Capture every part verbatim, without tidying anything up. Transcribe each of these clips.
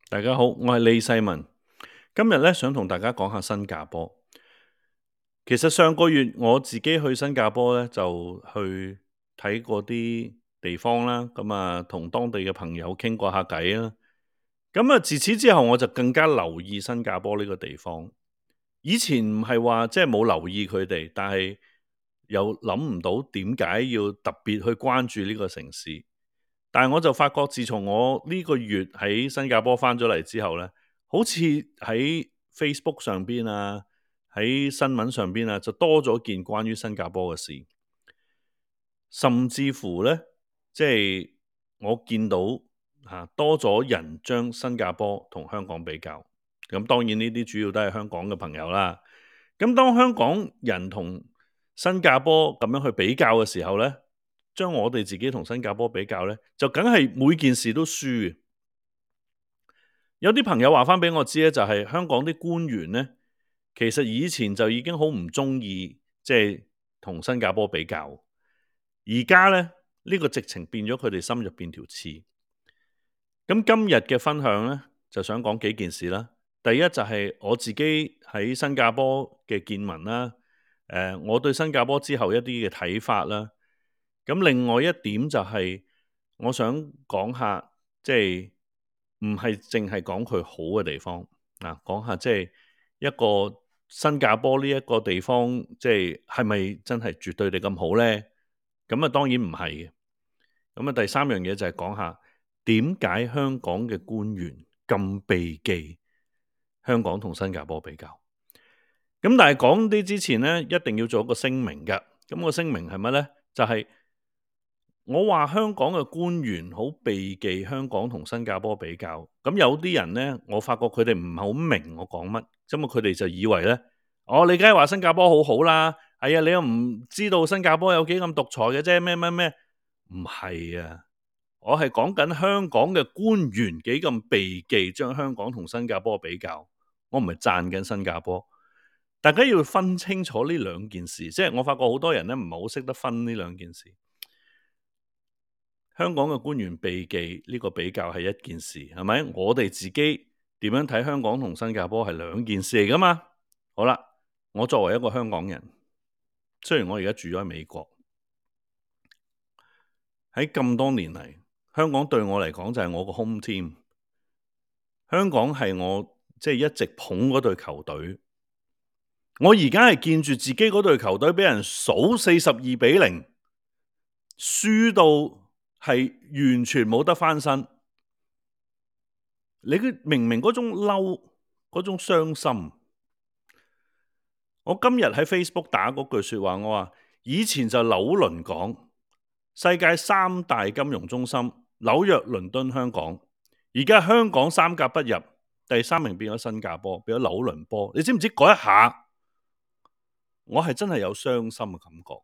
大家好，我係李世民。今日咧想同大家講下新加坡。其實上個月我自己去新加坡咧，就去睇過啲地方啦，咁啊同當地嘅朋友傾過下偈啦。咁啊自此之後，我就更加留意新加坡呢個地方。以前唔係話即係冇留意佢哋，但係又諗唔到點解要特別去關注呢個城市。但係我就發覺，自從我呢個月喺新加坡翻咗嚟之後咧，好似喺 Facebook 上邊啊，喺新聞上邊啊，就多咗件關於新加坡嘅事，甚至乎咧，即係我見到嚇多咗人將新加坡同香港比較。咁當然呢啲主要都係香港嘅朋友啦。咁當香港人同新加坡咁樣去比較嘅時候咧，將我哋自己同新加坡比較咧，就梗係每件事都輸嘅。有啲朋友話翻俾我知咧，就係香港啲官員咧，其實以前就已經好唔中意，即係同新加坡比較。而家咧，呢個直情變咗佢哋心入邊條刺。咁今日嘅分享咧，就想講幾件事啦。第一就係我自己喺新加坡嘅見聞啦，誒，我對新加坡之後一啲嘅睇法啦。咁另外一點就係我想講下，即係唔係淨係講佢好嘅地方啊，講下即係一個新加坡呢一個地方，即係係咪真係絕對地咁好呢？咁啊，當然唔係嘅。咁啊，第三樣嘢就係講下點解香港嘅官員咁避忌香港同新加坡比較。咁但係講啲之前呢，一定要做一個聲明㗎。咁個聲明係乜呢？就係我話香港嘅官員好避忌香港同新加坡比較。咁有啲人呢，我發覺佢哋唔係好明我講乜，咁啊佢哋就以為呢，哦，你梗係話新加坡好好啦，係啊，你又唔知道新加坡有幾咁獨裁嘅啫，咩咩咩，唔係啊，我係講緊香港嘅官員幾咁避忌將香港同新加坡比較，我唔係讚緊新加坡。大家要分清楚呢兩件事，即係我發覺好多人呢唔係好識得分呢兩件事。香港嘅官員避忌呢個比較係一件事，係咪？我哋自己點樣睇香港同新加坡係兩件事嚟噶嘛？好啦，我作為一個香港人，雖然我而家住咗喺美國，喺咁多年嚟，香港對我嚟講就係我個 home team。香港係我即係一直捧嗰隊球隊。我而家係見住自己嗰隊球隊俾人數四十二比零，輸到係完全冇得翻身。你明明嗰種嬲，嗰種傷心。我今日喺 Facebook 打嗰句說話，我話以前就紐倫港，世界三大金融中心，紐約、倫敦、香港。而家香港三甲不入，第三名變咗新加坡，變咗紐倫坡。你知唔知嗰一下，我係真係有傷心嘅感覺。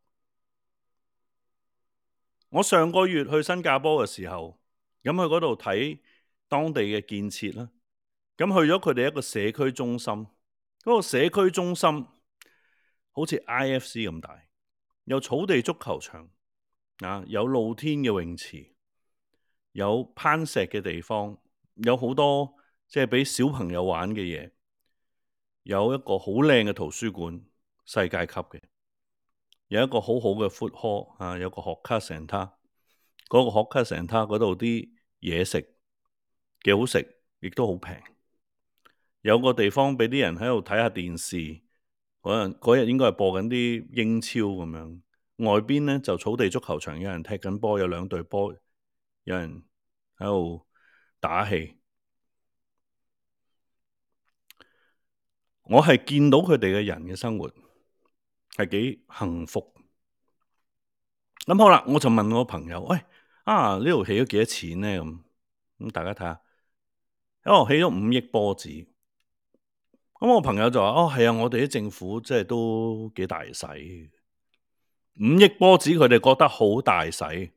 我上個月去新加坡嘅時候，咁去嗰度睇當地嘅建設啦，咁去咗佢哋一個社區中心，嗰個社區中心好似 I F C 咁大，有草地足球場啊，有露天嘅泳池，有攀石嘅地方，有好多即係俾小朋友玩嘅嘢，有一個好靚嘅圖書館，世界級嘅，有一個好好嘅 food hall 啊，有個學卡成他，嗰個學卡成他嗰度啲嘢食幾好食，亦都好平。有個地方俾啲人喺度睇下電視，嗰日嗰日應該係播緊啲英超咁樣。外邊呢就草地足球場，有人踢緊波，有兩隊波，有人喺度打氣。我係見到佢哋嘅人嘅生活係幾幸福。咁好啦，我就問我朋友：喂，啊呢度起咗幾多錢呢？咁咁大家睇下，哦起咗五億波子。咁我朋友就話：哦係啊，我哋啲政府即係都幾大使，五億波子佢哋覺得好大使。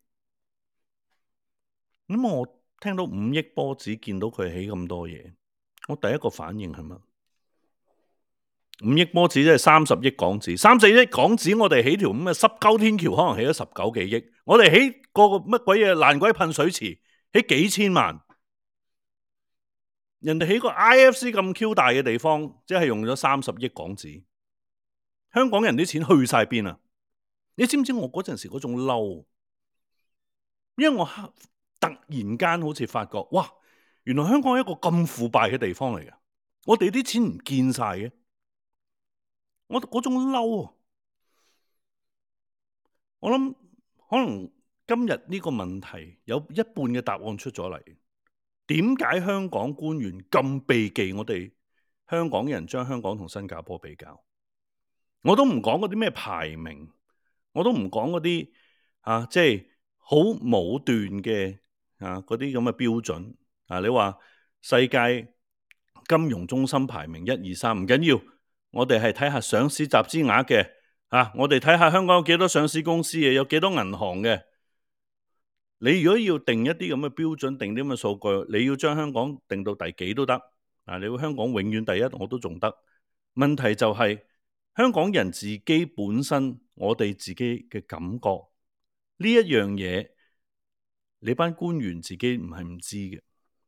咁我聽到五億波子，見到佢起咁多嘢，我第一個反應係乜？五億波子即係三十億港紙，三十億港紙我哋起條咁嘅濕鳩天橋，可能起咗十九幾億。我哋起個乜鬼嘢爛鬼噴水池，起幾千萬。 人哋喺個 I F C 咁 Q 大嘅地方，即係用咗三十億港紙，香港人啲錢去晒邊啊？你知唔知我嗰陣時嗰種嬲？因為我突然間好似發覺，哇！原來香港係一個咁腐敗嘅地方嚟嘅，我哋啲錢唔見晒嘅，我嗰種嬲啊！我諗可能今日呢個問題有一半嘅答案出咗嚟。點解香港官員咁避忌我哋香港人將香港同新加坡比較？我都唔講嗰啲咩排名，我都唔講嗰啲啊，即係好武斷嘅啊嗰啲咁嘅標準啊。你話世界金融中心排名一二三唔緊要，我哋係睇下上市集資額嘅啊，我哋睇下香港有幾多上市公司嘅，有幾多銀行嘅。你如果要定一啲咁嘅標準，定啲咁嘅數據，你要將香港定到第幾都得啊！你會香港永遠第一，我都仲得。問題就係香港人自己本身，我哋自己嘅感覺呢一樣嘢，你班官員自己唔係唔知嘅，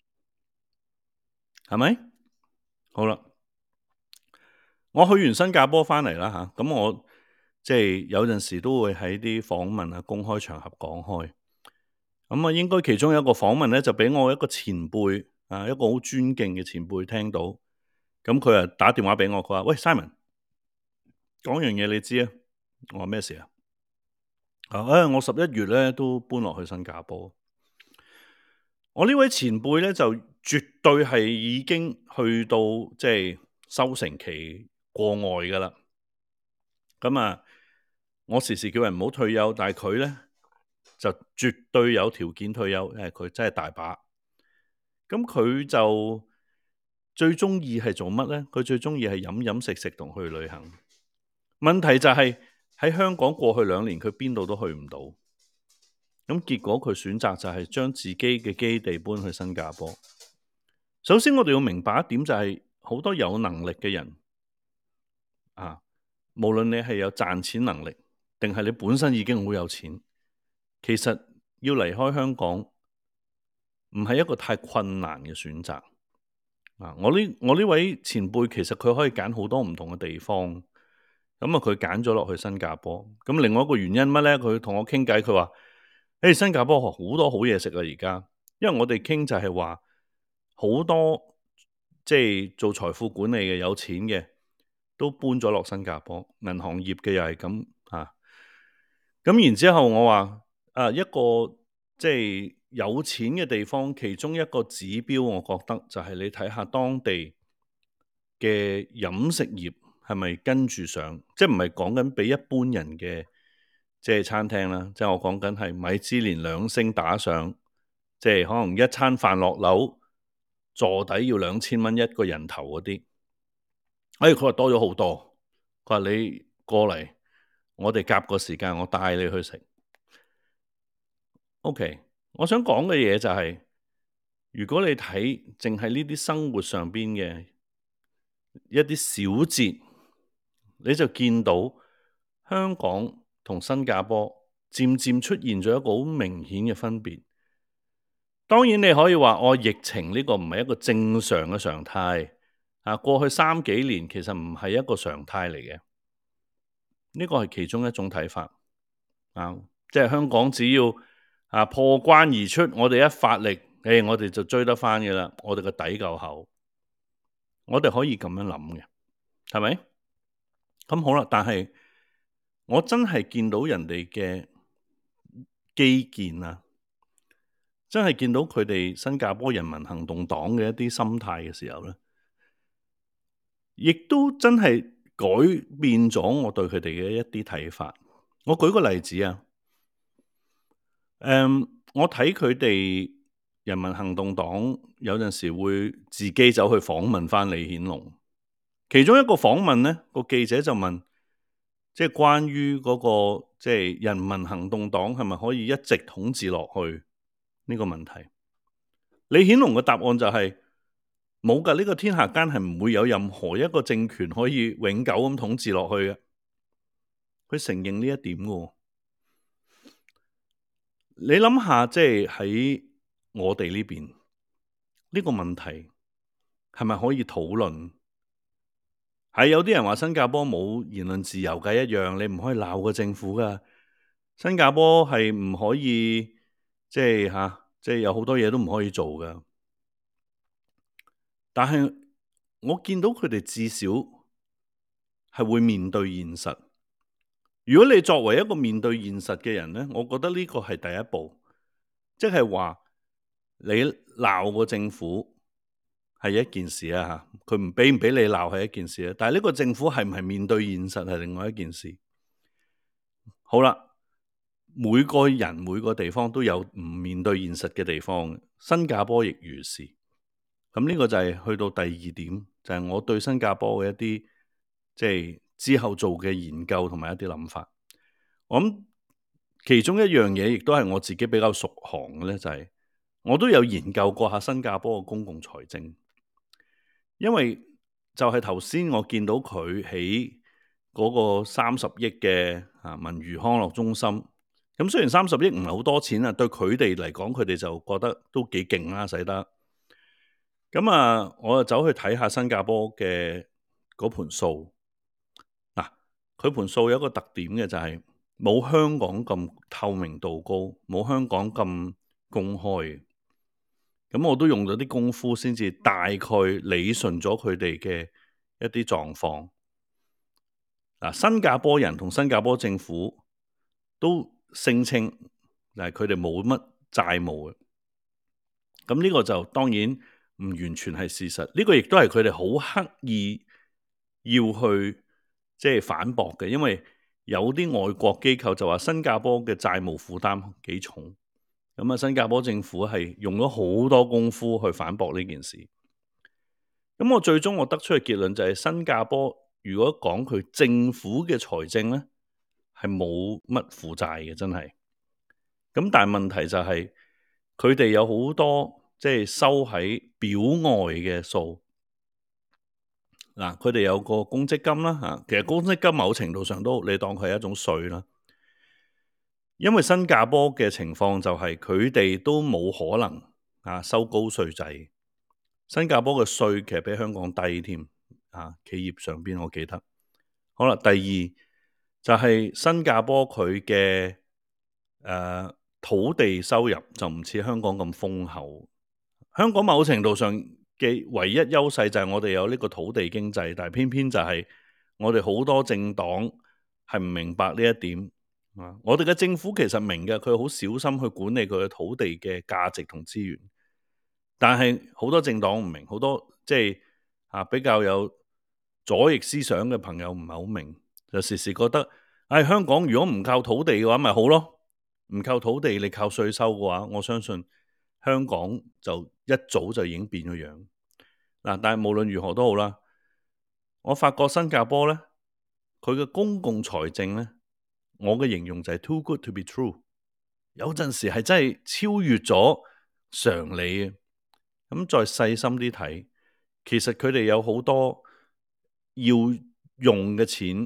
係咪？好啦，我去完新加坡翻嚟啦嚇，咁我即係有陣時都會喺啲訪問啊、公開場合講開。咁啊，應該其中有一個訪問咧，就俾我一個前輩啊，一個好尊敬嘅前輩聽到。咁佢啊打電話俾我，佢話：喂 Simon，講樣嘢你知啊？我話咩事啊？啊，哎、我十一月咧都搬落去新加坡。我呢位前輩咧就絕對係已經去到即係收成期過外噶啦。咁啊，我時時叫人唔好退休，但係佢咧就絕對有條件退休，因為佢真係大把。咁佢就最中意係做乜呢？佢最中意係飲飲食食同去旅行。問題就係喺香港過去兩年，佢邊度都去唔到。咁結果佢選擇就係將自己嘅基地搬去新加坡。首先我哋要明白一點就係，好多有能力嘅人啊，無論你係有賺錢能力，定係你本身已經好有錢，其實要離開香港唔係一個太困難嘅選擇。啊！我呢我呢位前輩其實佢可以揀好多唔同嘅地方，咁啊佢揀咗落去新加坡。咁另外一個原因乜咧？佢同我傾偈，佢話：誒新加坡好多好嘢食啊！而家，因為我哋傾就係話好多即係做財富管理嘅有錢嘅都搬咗落新加坡，銀行業嘅又係咁啊。咁然之後我話：啊一個即係有錢嘅地方，其中一個指標，我覺得就係你睇下當地嘅飲食業係咪跟住上，即係唔係講緊比一般人嘅即係餐廳啦，即係我講緊係米芝蓮兩星打上，即係可能一餐飯落樓坐底要兩千蚊一個人頭嗰啲。哎，佢話多咗好多，佢話你過嚟，我哋夾個時間，我帶你去食。OK，我想講嘅嘢就係，如果你睇淨係呢啲生活上邊嘅一啲小節，你就見到香港同新加坡漸漸出現咗一個好明顯嘅分別。當然你可以話，哦，疫情呢個唔係一個正常嘅常態啊，過去三幾年其實唔係一個常態嚟嘅，呢個係其中一種睇法啊，即係香港只要啊破關而出，我哋一發力，誒，我哋就追得翻嘅啦，我哋個底夠厚，我哋可以咁樣諗嘅，係咪？咁好啦，但係我真係見到人哋嘅基建啊，真係見到佢哋新加坡人民行動黨嘅一啲心態嘅時候咧，亦都真係改變咗我對佢哋嘅一啲睇法。我舉個例子啊，誒、嗯，我睇佢哋人民行動黨有陣時會自己走去訪問翻李顯龍，其中一個訪問咧，個記者就問，即係關於嗰個即係人民行動黨係咪可以一直統治落去呢個問題？李顯龍嘅答案就係冇㗎，呢個天下間係唔會有任何一個政權可以永久咁統治落去嘅。佢承認呢一點嘅。你諗下，即係喺我哋呢邊呢個問題， 係咪可以討論？係有啲人話新加坡冇言論自由嘅一樣，你唔可以鬧個政府噶。新加坡係唔可以即係吓，即係有好多嘢都唔可以做噶。但係我見到佢哋至少係會面對現實。如果你作為一個面對現實嘅人呢，我覺得呢個係第一步，即係話你鬧個政府係一件事啊吓，佢唔俾唔俾你鬧係一件事啊，但係呢個政府係唔係面對現實係另外一件事。好啦，每個人每個地方都有唔面對現實嘅地方，新加坡亦如是。咁呢個就係去到第二點，就係我對新加坡嘅一啲即係之後做嘅研究同埋一啲諗法。我諗其中一樣嘢，亦都係我自己比較熟行嘅咧，就係我都有研究過下新加坡嘅公共財政，因為就係頭先我見到佢喺嗰個三十億嘅啊文娛康樂中心。咁雖然三十億唔係好多錢啊，對佢哋嚟講，佢哋就覺得都幾勁啦，使得。咁啊，我就走去睇下新加坡嘅嗰盤數。嗱，佢盤數有一個特點嘅就係冇香港咁透明度高，冇香港咁公開。咁我都用咗啲功夫先至大概理順咗佢哋嘅一啲狀況。嗱，新加坡人同新加坡政府都聲稱，但係佢哋冇乜債務嘅。咁呢個就當然唔完全係事實，呢個亦都係佢哋好刻意要去即係反駁嘅，因為有啲外國機構就話新加坡嘅債務負擔幾重，咁啊新加坡政府係用咗好多功夫去反駁呢件事。咁我最終我得出嘅結論就係新加坡如果講佢政府嘅財政咧，係冇乜負債嘅，真係。咁但係問題就係佢哋有好多即係收喺表外嘅數。嗱，佢哋有個公積金啦嚇，其實公積金某程度上都你當佢係一種稅啦。因為新加坡嘅情況就係佢哋都冇可能啊收高稅制。新加坡嘅稅其實比香港低添啊，企業上邊我記得。好啦，第二就係新加坡佢嘅誒土地收入就唔似香港咁豐厚。香港某程度上嘅唯一優勢就係我哋有呢個土地經濟，但係偏偏就係我哋好多政黨係唔明白呢一點。啊，我哋嘅政府其實明嘅，佢好小心去管理佢嘅土地嘅價值同資源，但係好多政黨唔明，好多即係啊比較有左翼思想嘅朋友唔係好明，就時時覺得，唉、哎，香港如果唔靠土地嘅話，咪好咯。唔靠土地，你靠稅收嘅話，我相信香港就一早就已經變咗樣。嗱，但係無論如何都好啦，我發覺新加坡咧，佢嘅公共財政咧，我嘅形容就係 too good to be true，有陣時係真係超越咗常理嘅。咁再細心啲睇，其實佢哋有好多要用嘅錢，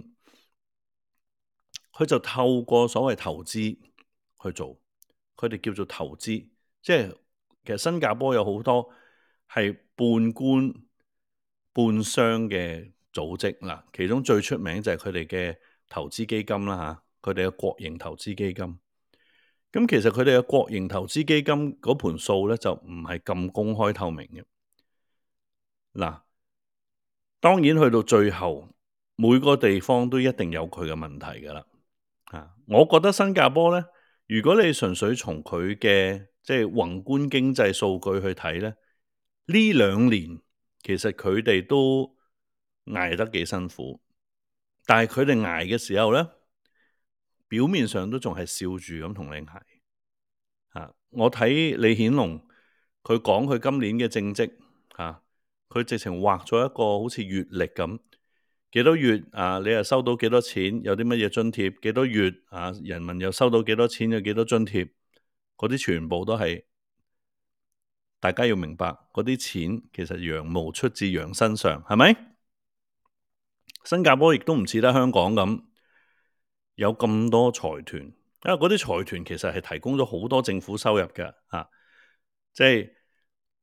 佢就透過所謂投資去做，佢哋叫做投資。即係其實新加坡有好多係半官半商嘅組織嗱，其中最出名就係佢哋嘅投資基金啦嚇，佢哋嘅國營投資基金。咁其實佢哋嘅國營投資基金嗰盤數咧就唔係咁公開透明嘅。嗱，當然去到最後，每個地方都一定有佢嘅問題噶啦。啊，我覺得新加坡咧，如果你純粹從佢嘅即係宏觀經濟數據去睇咧，呢兩年其實佢哋都捱得幾辛苦，但係佢哋捱嘅時候咧，表面上都仲係笑住咁同你捱。啊，我睇李顯龍佢講佢今年嘅政績，啊，佢直情畫咗一個好似月曆咁。幾多月啊？你又收到幾多錢？有啲乜嘢津貼？幾多月啊？人民又收到幾多錢？有幾多津貼？嗰啲全部都係大家要明白，嗰啲錢其實羊毛出自羊身上，係咪？新加坡亦都唔似得香港咁有咁多財團，因為嗰啲財團其實係提供咗好多政府收入嘅，啊，即係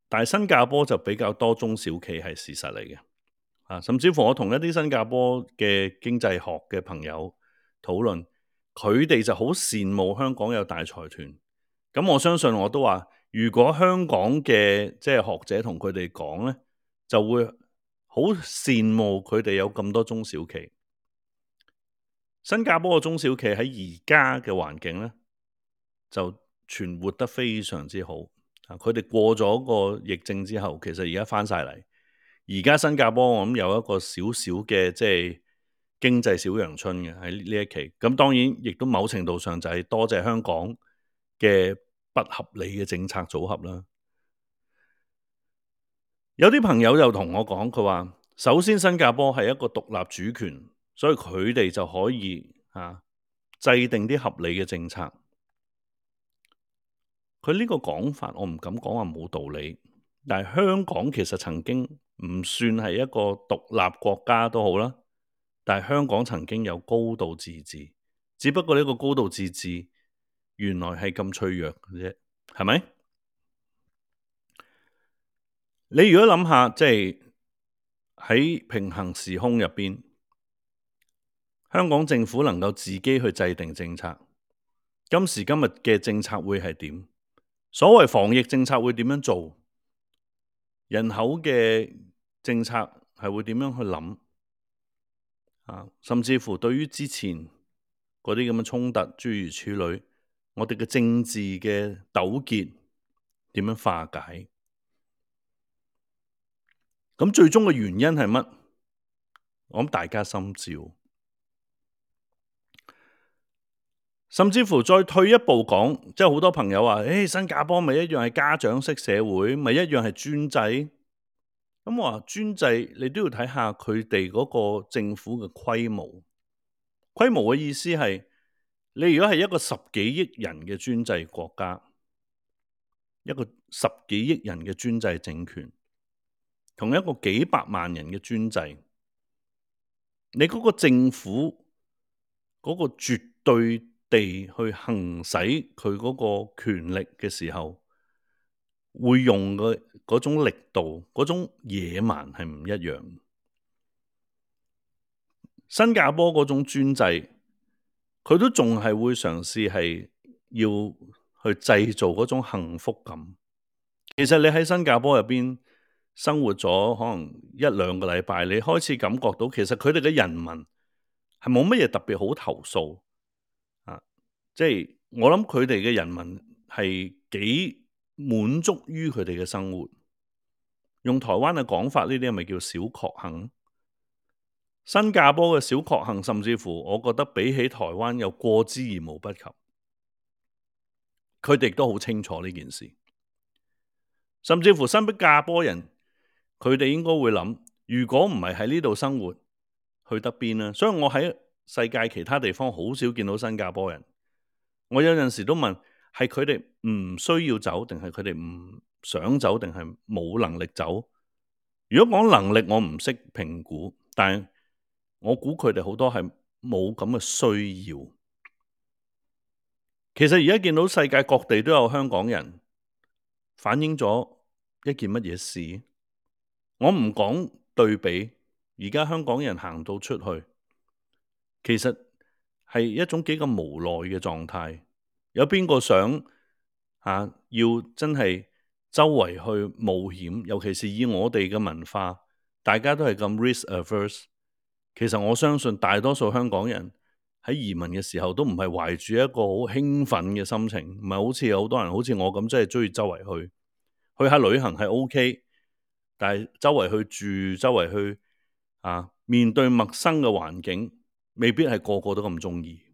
但係新加坡就比較多中小企係事實嚟嘅。啊，甚至乎我同一啲新加坡嘅經濟學嘅朋友討論，佢哋就好羨慕香港有大財團。咁我相信我都話，如果香港嘅即係學者同佢哋講咧，就會好羨慕佢哋有咁多中小企。新加坡嘅中小企喺而家嘅環境咧，就存活得非常之好。啊，佢哋過咗個疫症之後，其實而家翻晒嚟。而家新加坡我諗有一個少少嘅即係經濟小陽春嘅喺呢一期，咁當然亦都某程度上就係多謝香港嘅不合理嘅政策組合啦。有啲朋友又同我講，佢話首先新加坡係一個獨立主權，所以佢哋就可以啊制定啲合理嘅政策。佢呢個講法我唔敢講話冇道理，但係香港其實曾經唔算係一個獨立國家都好啦，但係香港曾經有高度自治，只不過呢個高度自治原來係咁脆弱嘅啫，係咪？你如果諗下，即係喺平行時空入邊，香港政府能夠自己去制定政策，今時今日嘅政策會係點？所謂防疫政策會點樣做？人口嘅政策係會點樣去諗？啊，甚至乎對於之前嗰啲咁嘅衝突諸如此類，我哋嘅政治嘅糾結點樣化解？咁最終嘅原因係乜？我諗大家心照。甚至乎再退一步講，即係好多朋友話，誒、哎，新加坡咪一樣係家長式社會，咪一樣係專制。咁我話專制，你都要睇下佢哋嗰個政府嘅規模。規模嘅意思係，你如果係一個十幾億人嘅專制國家，一個十幾億人嘅專制政權，同一個幾百萬人嘅專制，你嗰個政府嗰個絕對地去行使佢嗰個權力嘅時候，會用嘅嗰種力度、嗰種野蠻係唔一樣。新加坡嗰種專制，佢都仲係會嘗試係要去製造嗰種幸福感。其實你喺新加坡入邊生活咗可能一兩個禮拜，你開始感覺到其實佢哋嘅人民係冇乜嘢特別好投訴啊！即係我諗佢哋嘅人民係幾滿足於佢哋嘅生活。用台灣嘅講法，呢啲係咪叫小確幸？新加坡嘅小確幸，甚至乎我覺得比起台灣有過之而無不及。佢哋都好清楚呢件事。甚至乎新加坡人，佢哋應該會諗，如果唔係喺呢度生活，去得邊呢？所以我喺世界其他地方好少見到新加坡人。我有陣時都問，係佢哋唔需要走，定係佢哋唔想走，定係冇能力走？如果講能力，我唔識評估，但係我估佢哋好多係冇咁嘅需要。其實而家見到世界各地都有香港人，反映咗一件乜嘢事？我唔講對比，而家香港人行到出去，其實係一種幾咁無奈嘅狀態。有邊個想啊？要真係周圍去冒險，尤其是以我哋嘅文化，大家都係咁 risk averse。其實我相信大多數香港人喺移民嘅時候都唔係懷住一個好興奮嘅心情，唔係好似有好多人好似我咁，真係中意周圍去去下旅行係 OK，但係周圍去住、周圍去啊面對陌生嘅環境，未必係個個都咁中意。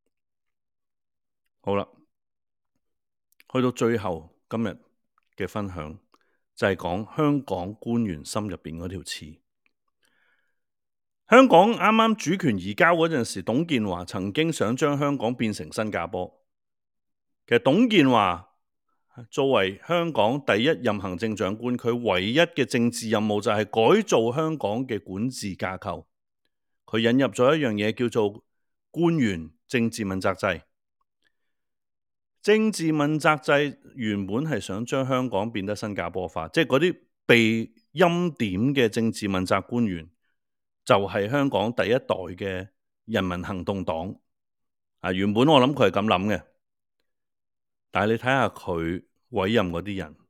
好啦，去到最後今日嘅分享就係講香港官員心入邊嗰條刺。香港啱啱主權移交嗰陣時，董建華曾經想將香港變成新加坡。其實董建華作為香港第一任行政長官，佢唯一嘅政治任務就係改造香港嘅管治架構。佢引入咗一樣嘢叫做官員政治問責制。 政治問責制原本係想將香港變得新加坡化，即係嗰啲被欽點嘅政治問責官員，就係香港第一代嘅人民行動黨。啊，原本我諗佢係咁諗嘅，但係你睇下佢委任嗰啲人，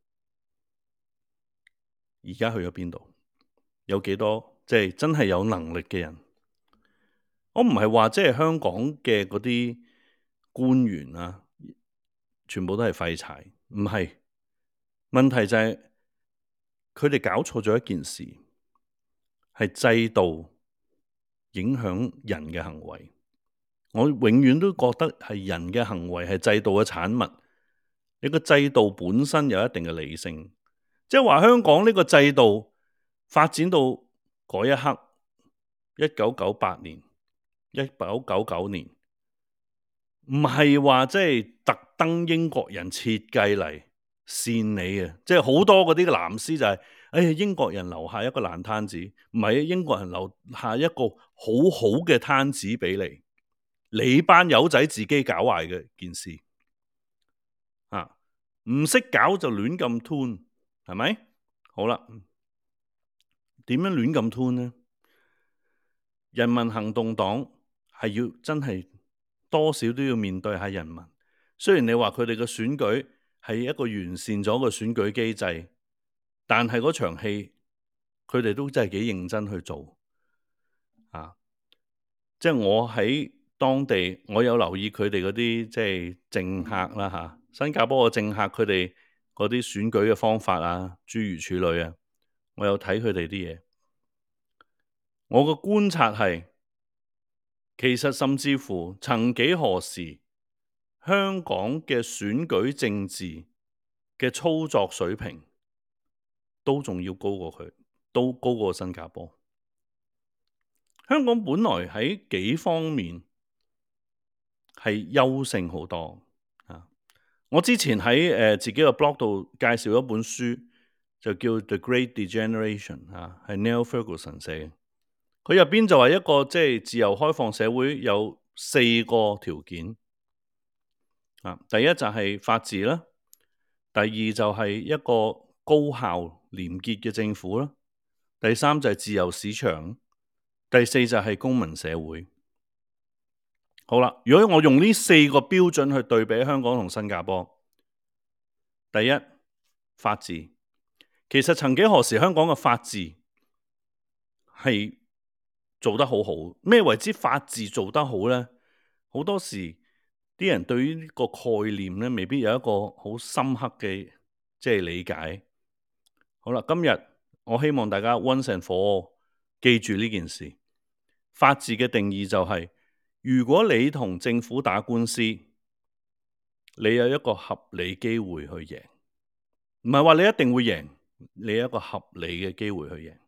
而家去咗邊度？有幾多即係真係有能力嘅人？我唔係話即係香港嘅嗰啲官員啊，全部都係廢柴，唔係。問題就係佢哋搞錯咗一件事，係制度影響人嘅行為。我永遠都覺得係人嘅行為係制度嘅產物。你個制度本身有一定嘅理性，即係話香港呢個制度發展到嗰一刻，一九九八年、一九九九年，唔係話即係特登英國人設計嚟扇你嘅，即係好多嗰啲藍絲就係、是，哎呀英國人留下一個爛攤子，唔係英國人留下一個好好嘅攤子俾你。你班友仔自己搞壞嘅件事，啊，唔識搞就亂咁吞，係咪？好啦，點樣亂咁吞呢？人民行動黨係要真係多少都要面對下人民。雖然你話佢哋嘅選舉係一個完善咗嘅選舉機制，但係嗰場戲佢哋都真係幾認真去做。啊，即係我喺當地，我有留意佢哋嗰啲即係政客啦嚇、啊，新加坡嘅政客佢哋嗰啲選舉嘅方法啊，諸如此類啊，我有睇佢哋啲嘢。我嘅觀察係，其實甚至乎曾幾何時，香港嘅選舉政治嘅操作水平都仲要高過佢，都高過新加坡。香港本來喺幾方面係優勝好多啊！我之前喺誒、呃、自己嘅 blog 度介紹一本書，就叫《The Great Degeneration》啊，係 Neil Ferguson 寫嘅。佢入邊就話一個即係自由開放社會有四個條件啊。第一就係法治啦，第二就係一個高效廉潔嘅政府啦，第三就係自由市場，第四就係公民社會。好啦，如果我用呢四個標準去對比香港同新加坡，第一，法治，其實曾幾何時香港嘅法治係做得好好。咩為之法治做得好呢？好多時啲人對於呢個概念咧，未必有一個好深刻嘅即係理解。好啦，今日我希望大家 once and for all 記住呢件事。法治嘅定義就係，如果你同政府打官司，你有一個合理機會去贏，唔係話你一定會贏，你有一個合理嘅機會去贏。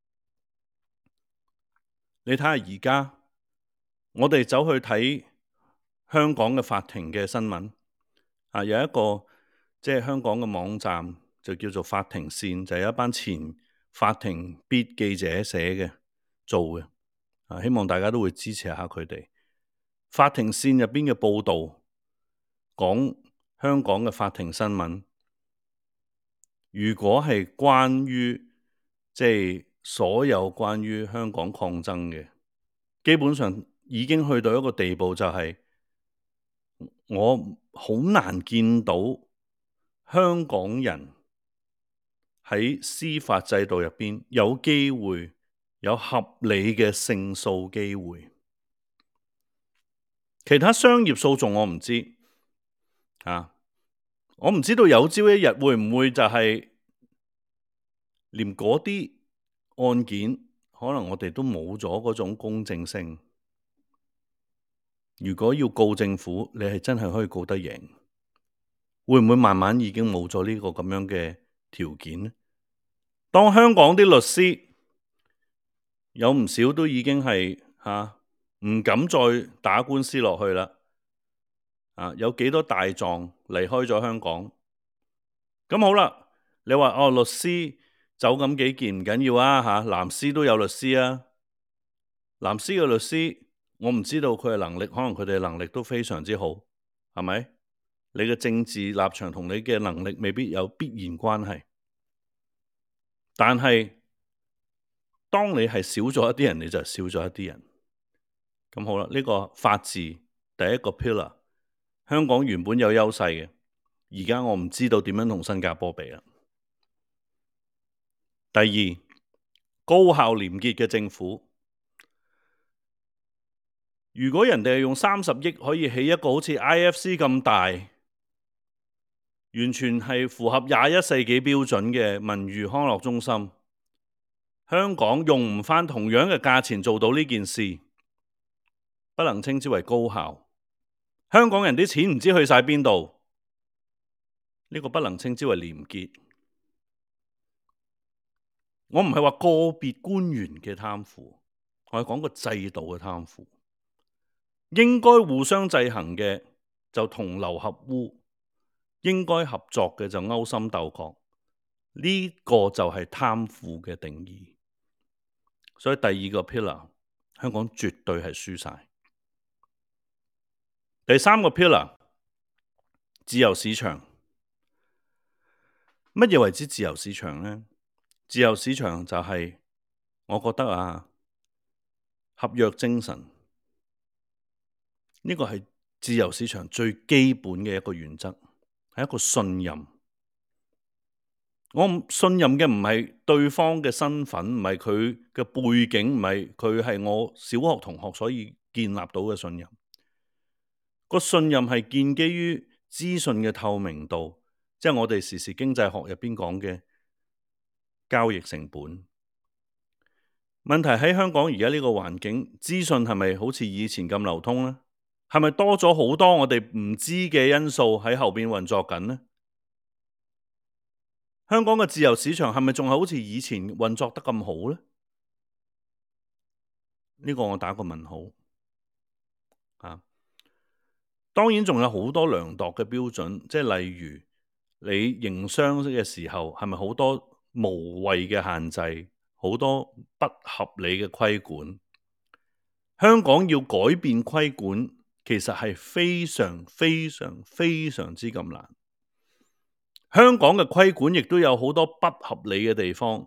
你睇下而家，我哋走去睇香港嘅法庭嘅新聞，啊，有一個即係香港嘅網站就叫做法庭線，就係一班前法庭 beat 記者寫嘅做嘅，啊，希望大家都會支持下佢哋。法庭線入邊嘅報導講香港嘅法庭新聞，如果係關於即係所有關於香港抗爭嘅，基本上已經去到一個地步，就係我好難見到香港人喺司法制度入邊有機會有合理嘅勝訴機會。其他商業訴訟我唔知啊，我唔知道有朝一日會唔會就係連嗰啲案件，可能我哋都冇咗嗰種公正性。如果要告政府，你係真係可以告得贏，會唔會慢慢已經冇咗呢個咁樣嘅條件呢？當香港啲律師有唔少都已經係吓唔敢再打官司落去啦，啊，有幾多大狀離開咗香港？咁好啦，你話哦，律師走咁幾件唔緊要啊吓，藍絲都有律師啊，藍絲嘅律師我唔知道佢嘅能力，可能佢哋嘅能力都非常之好，係咪？ 你嘅政治立場同你嘅能力未必有必然關係，但係當你係少咗一啲人，你就少咗一啲人。咁好啦，呢個法治第一個 pillar， 香港原本有優勢嘅，而家我唔知道點樣同新加坡比啦。第二，高效廉潔嘅政府。如果人哋係用三十億可以起一個好似 I F C 咁大，完全係符合廿一世紀標準嘅文娛康樂中心，香港用唔返同樣嘅價錢做到呢件事，不能稱之為高效。香港人啲錢唔知去晒邊度，呢個不能稱之為廉潔。我唔係話個別官員嘅貪腐，我係講個制度嘅貪腐。應該互相制衡嘅就同流合污，應該合作嘅就勾心鬥角，呢個就係貪腐嘅定義。所以第二個 pillar， 香港絕對係輸晒。第三個 pillar， 自由市場。乜嘢為之自由市場呢？自由市場就係我覺得啊，合約精神。呢個係自由市場最基本嘅一個原則，係一個信任。我信任嘅唔係對方嘅身份，唔係佢嘅背景，唔係佢係我小學同學所以建立到嘅信任。個信任係建基於資訊嘅透明度，即係我哋時時經濟學入邊講嘅交易成本。問題喺香港而家呢個環境，資訊係咪好似以前咁流通呢？係咪多咗好多我哋唔知嘅因素喺後邊運作緊呢？香港嘅自由市場係咪仲係好似以前運作得咁好呢？呢個我打個問號啊！當然仲有好多量度嘅標準，即係例如你營商嘅時候係咪好多無謂嘅限制，好多不合理嘅規管？香港要改變規管，其實係非常非常非常之咁難。香港嘅規管亦都有好多不合理嘅地方，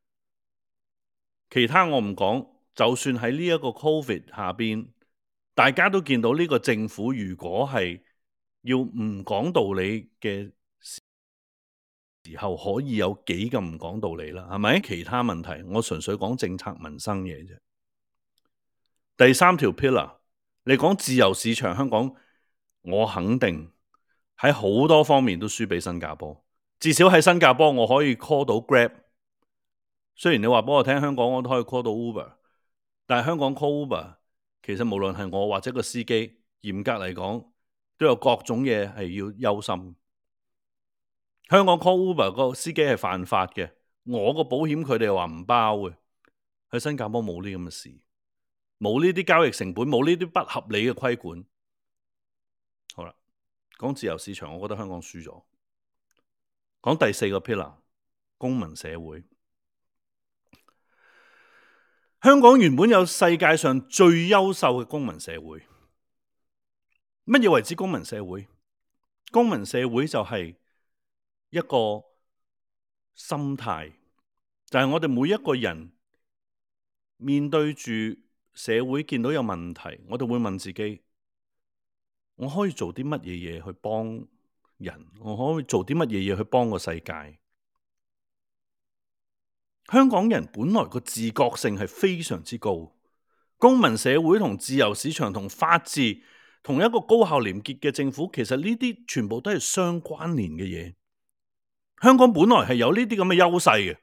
其他我唔講。就算喺呢一個 Covid 下邊，大家都見到呢個政府如果係要唔講道理嘅時候，可以有幾咁唔講道理啦？係咪？其他問題，我純粹講政策民生嘢啫。第三條 pillar， 你講自由市場，香港我肯定喺好多方面都輸俾新加坡。至少喺新加坡我可以 call 到 Grab， 雖然你話俾我聽香港我都可以 call 到 Uber， 但係香港 call Uber 其實無論係我或者個司機，嚴格嚟講都有各種嘢係要憂心。香港 call Uber 個司機係犯法嘅，我個保險佢哋又話唔包嘅。喺新加坡冇呢咁嘅事，冇呢啲交易成本，冇呢啲不合理嘅規管。好啦，講自由市場，我覺得香港輸咗。講第四個 pillar， 公民社會。香港原本有世界上最優秀嘅公民社會。乜嘢為之公民社會？公民社會就係一個心態，就係我哋每一個人面對住社會見到有問題，我哋會問自己：我可以做啲乜嘢嘢去幫人？我可以做啲乜嘢嘢去幫個世界？香港人本來個自覺性係非常之高，公民社會同自由市場同法治同一個高效廉潔嘅政府，其實呢啲全部都係相關聯嘅嘢。香港本來係有呢啲咁嘅優勢嘅，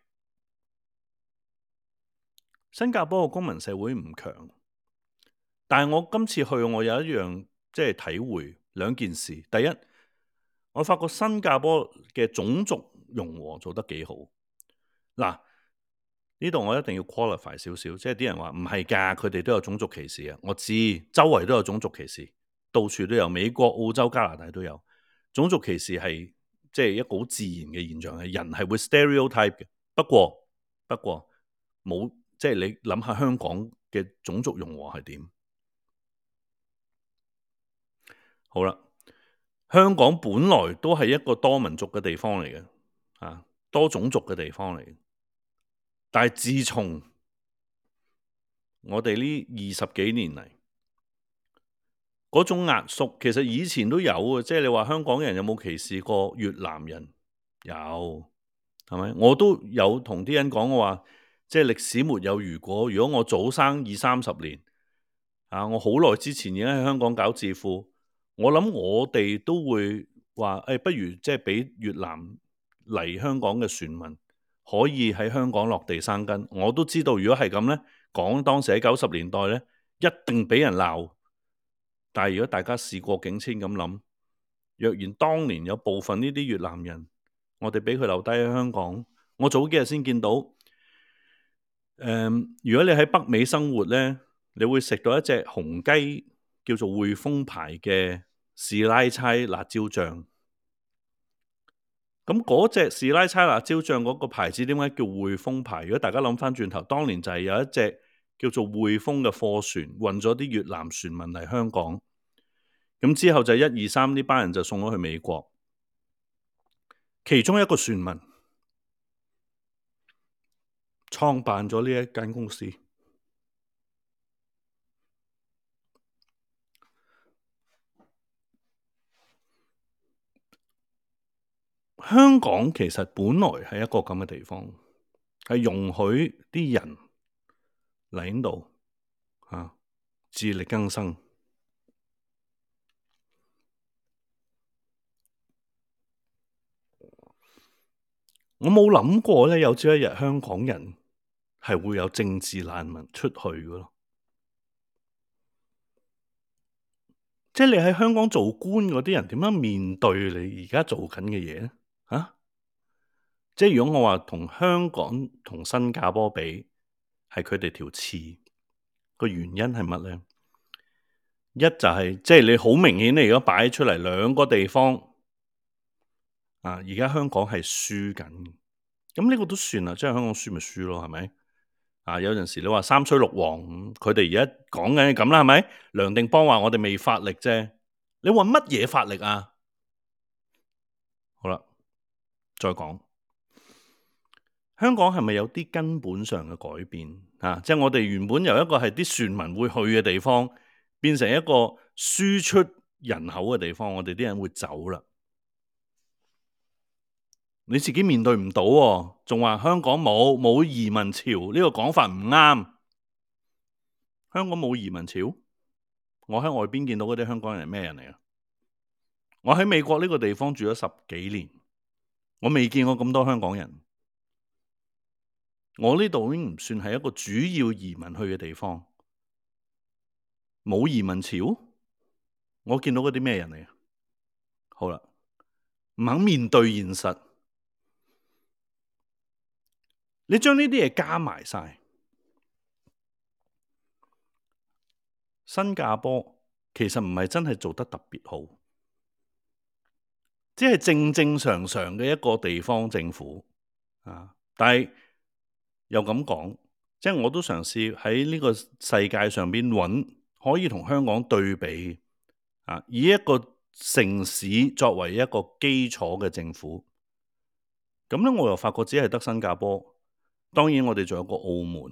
新加坡嘅公民社會唔強，但係我今次去我有一樣即係體會兩件事。第一，我發覺新加坡嘅種族融合做得幾好。嗱，呢度我一定要 qualify 少少，即係啲人話唔係㗎，佢哋都有種族歧視啊。我知周圍都有種族歧視，到處都有，美國、澳洲、加拿大都有。種族歧視係即係一個好自然嘅現象，係人係會 stereotype 嘅。不過不過冇，即係你諗下香港嘅種族融合係點？好啦， 香港本來都係一個多民族嘅地方嚟嘅，啊，多種族嘅地方嚟嘅。但係自從我哋呢二十幾年嚟，嗰種壓縮，其實以前都有嘅，即係你話香港人有冇歧視過越南人？有，係咪？我都有同啲人講，我話即係歷史沒有如果。如果我早生二三十年，啊，我好耐之前已經喺香港搞智庫，我諗我哋都會話，誒、哎，不如即係俾越南嚟香港嘅船民可以喺香港落地生根。我都知道，如果係咁呢，講當時喺九十年代呢，一定俾人鬧。但係如果大家事過境遷咁諗，若然當年有部分呢啲越南人，我哋俾佢留低喺香港，我早幾日先見到，誒、嗯，如果你喺北美生活呢，你會食到一隻紅雞，叫做匯豐牌嘅士拉差辣椒醬。咁嗰隻士拉差辣椒醬嗰個牌子點解叫匯豐牌？如果大家諗翻轉頭，當年就係有一隻叫做匯豐嘅貨船運咗啲越南船民嚟香港，咁之後就一二三呢班人就送咗去美國，其中一個船民創辦咗呢一間公司。香港其實本來係一個咁嘅地方，係容許啲人嚟呢度啊，自力更生。我冇諗過咧，有朝一日香港人係會有政治難民出去嘅咯。即係你喺香港做官嗰啲人點樣面對你而家做緊嘅嘢咧？啊！即係如果我話同香港同新加坡比，係佢哋條刺，個原因係乜咧？一就係即係你好明顯，你如果擺出嚟兩個地方啊，而家香港係輸緊，咁呢個都算啦，即係香港輸咪輸咯，係咪？啊，有陣時你話三吹六黃，佢哋而家講緊係咁啦，係咪？梁定邦話我哋未發力啫，你話乜嘢發力啊？好啦，再講。香港係咪有啲根本上嘅改變啊？即係我哋原本由一個係啲船民會去嘅地方，變成一個輸出人口嘅地方，我哋啲人會走啦。你自己面對唔到喎，仲話香港冇冇移民潮，呢個講法唔啱。香港冇移民潮，我喺外邊見到嗰啲香港人係咩人嚟啊？我喺美國呢個地方住咗十幾年，我未見過咁多香港人。我呢度已經唔算係一個主要移民去嘅地方，冇移民潮，我見到嗰啲咩人嚟啊？好啦，唔肯面對現實，你將呢啲嘢加埋晒，新加坡其實唔係真係做得特別好，只係正正常常嘅一個地方政府啊，但係又咁講，即係我都嘗試喺呢個世界上邊揾可以同香港對比啊，以一個城市作為一個基礎嘅政府，咁咧我又發覺只係得新加坡，當然我哋仲有個澳門，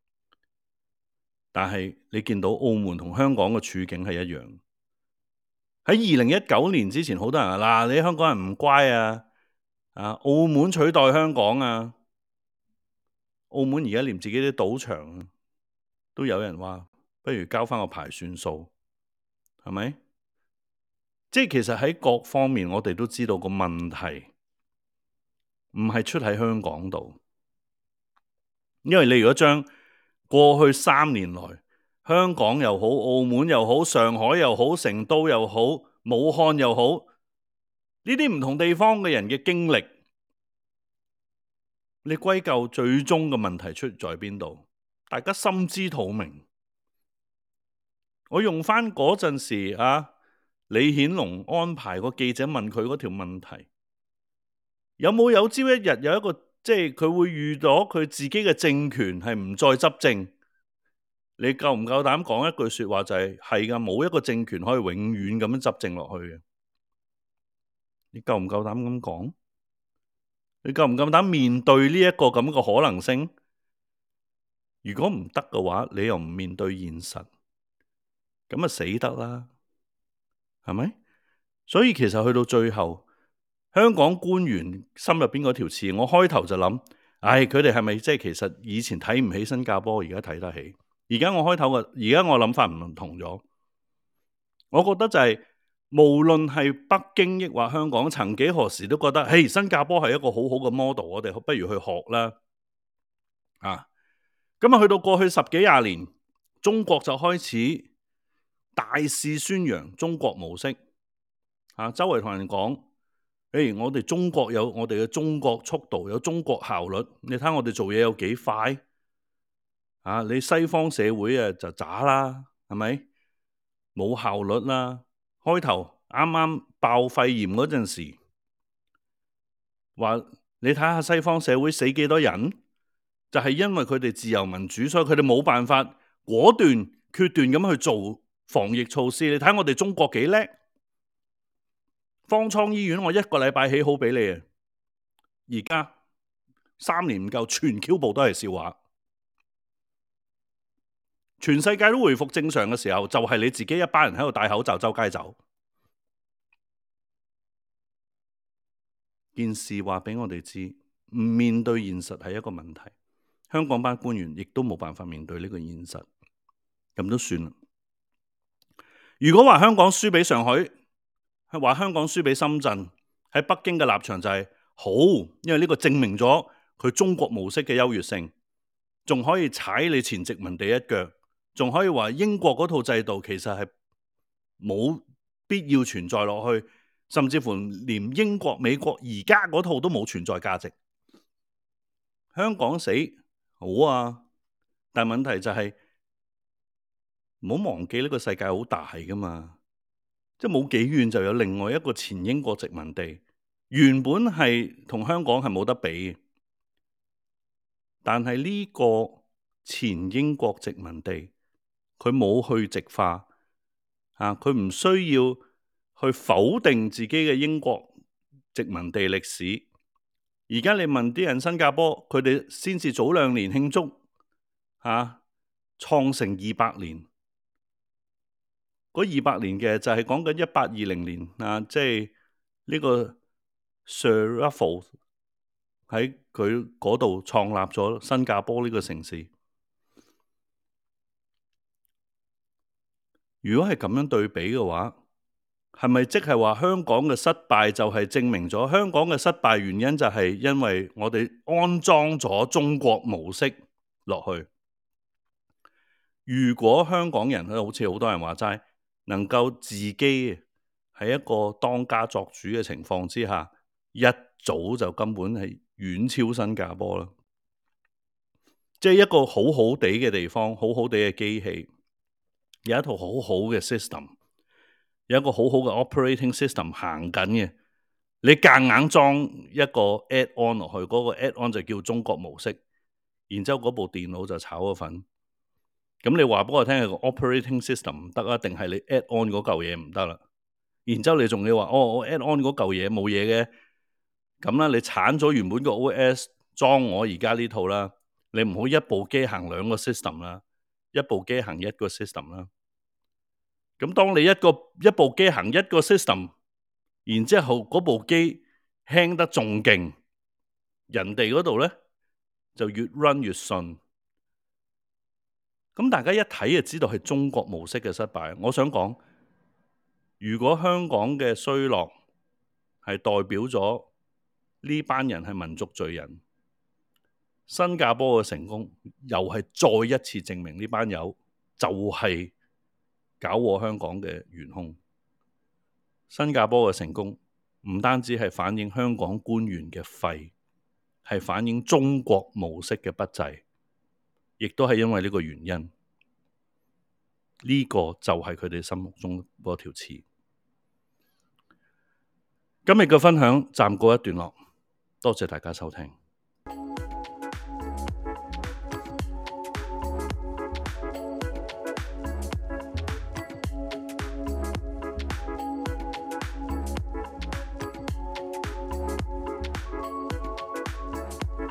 但係你見到澳門同香港嘅處境係一樣。喺二零一九年之前，好多人話嗱，你香港人唔乖啊，啊，澳門取代香港啊。澳門而家連自己啲賭場都有人話，不如交翻個牌算數，係咪？即係其實喺各方面，我哋都知道個問題唔係出喺香港度，因為你如果將過去三年來香港又好、澳門又好、上海又好、成都又好、武漢又好，呢啲唔同地方嘅人嘅經歷，你歸咎最終嘅問題出在邊度？大家心知肚明。我用翻嗰陣時啊，李顯龍安排個記者問佢嗰條問題，有冇有朝一日有一個即係佢會遇到佢自己嘅政權係唔再執政？你夠唔夠膽講一句說話就係係噶，冇一個政權可以永遠咁樣執政落去嘅。 你夠唔夠膽咁講？你夠唔夠膽面對呢一個咁嘅可能性？如果唔得嘅話，你又唔面對現實，咁啊死得啦，係咪？所以其實去到最後，香港官員心入邊嗰條刺，我開頭就諗，唉，佢哋係咪即係其實以前睇唔起新加坡，而家睇得起？而家我開頭嘅，而家我諗法唔同咗。我覺得就係、是、無論係北京抑或香港，曾幾何時都覺得，嘿，新加坡係一個好好嘅 model，我哋不如去學啦。啊，咁啊，去到過去十幾廿年，中國就開始大肆宣揚中國模式。啊，周圍同人講，誒，我哋中國有我哋嘅中國速度，有中國效率。你睇我哋做嘢有幾快？啊，你西方社會啊就渣啦，係咪？冇效率啦。開頭啱啱爆肺炎嗰陣時，話你睇下西方社會死幾多人，就係因為佢哋自由民主，所以佢哋冇辦法果斷決斷咁去做防疫措施。你睇我哋中國幾叻，方艙醫院我一個禮拜起好俾你啊！而家三年唔夠，全 Q 部都係笑話。全世界都回復正常嘅時候，就係你自己一班人喺度戴口罩周街走。件事話俾我哋知，唔面對現實係一個問題。香港班官員亦都冇辦法面對呢個現實，咁都算啦。如果話香港輸俾上海，係話香港輸俾深圳，喺北京嘅立場就係好，因為呢個證明咗佢中國模式嘅優越性，仲可以踩你前殖民地一腳，仲可以話英國嗰套制度其實係冇必要存在落去，甚至乎連英國、美國而家嗰套都冇存在價值。香港死好啊，但問題就係唔好忘記呢個世界好大噶嘛，即係冇幾遠就有另外一個前英國殖民地，原本係同香港係冇得比，但係呢個前英國殖民地佢冇去殖化啊，佢唔需要去否定自己嘅英國殖民地歷史。而家你問啲人新加坡，佢哋先至早兩年慶祝嚇創成二百年，嗰二百年嘅就係講緊一八二零年啊，即係呢個 Sir Raffles 喺佢嗰度創立咗新加坡呢個城市。如果係咁樣對比嘅話，係咪即係話香港嘅失敗就係證明咗香港嘅失敗原因就係因為我哋安裝咗中國模式落去？如果香港人好似好多人話齋，能夠自己喺一個當家作主嘅情況之下，一早就根本係遠超新加坡啦。即係一個好好地嘅地方，好好地嘅機器，有一套好好嘅 system。有一個好好嘅 operating system 行緊嘅，你夾硬裝一個 add on 落去，嗰個 add on 就叫中國模式，然之後嗰部電腦就炒咗份。咁你話俾我聽係個 operating system 唔得啊，定係你 add on 嗰嚿嘢唔得啦？然之後你仲要話哦，我 add on 嗰嚿嘢冇嘢嘅，咁啦，你鏟咗原本個 O S 裝我而家呢套啦，你唔好一部機行兩個 system 啦，一部機行一個 system 啦。咁當你一個一部機行一個 system， 然之後嗰部機輕得仲勁，人哋嗰度咧就越 run 越順。咁大家一睇就知道係中國模式嘅失敗。我想講，如果香港嘅衰落係代表咗呢班人係民族罪人，新加坡嘅成功又係再一次證明呢班友就係、是。搞禍香港嘅元兇，新加坡嘅成功唔單止係反映香港官員嘅廢，係反映中國模式嘅不濟，亦都係因為呢個原因，呢、這個就係佢哋心目中嗰條刺。今日嘅分享暫告一段落，多謝大家收聽。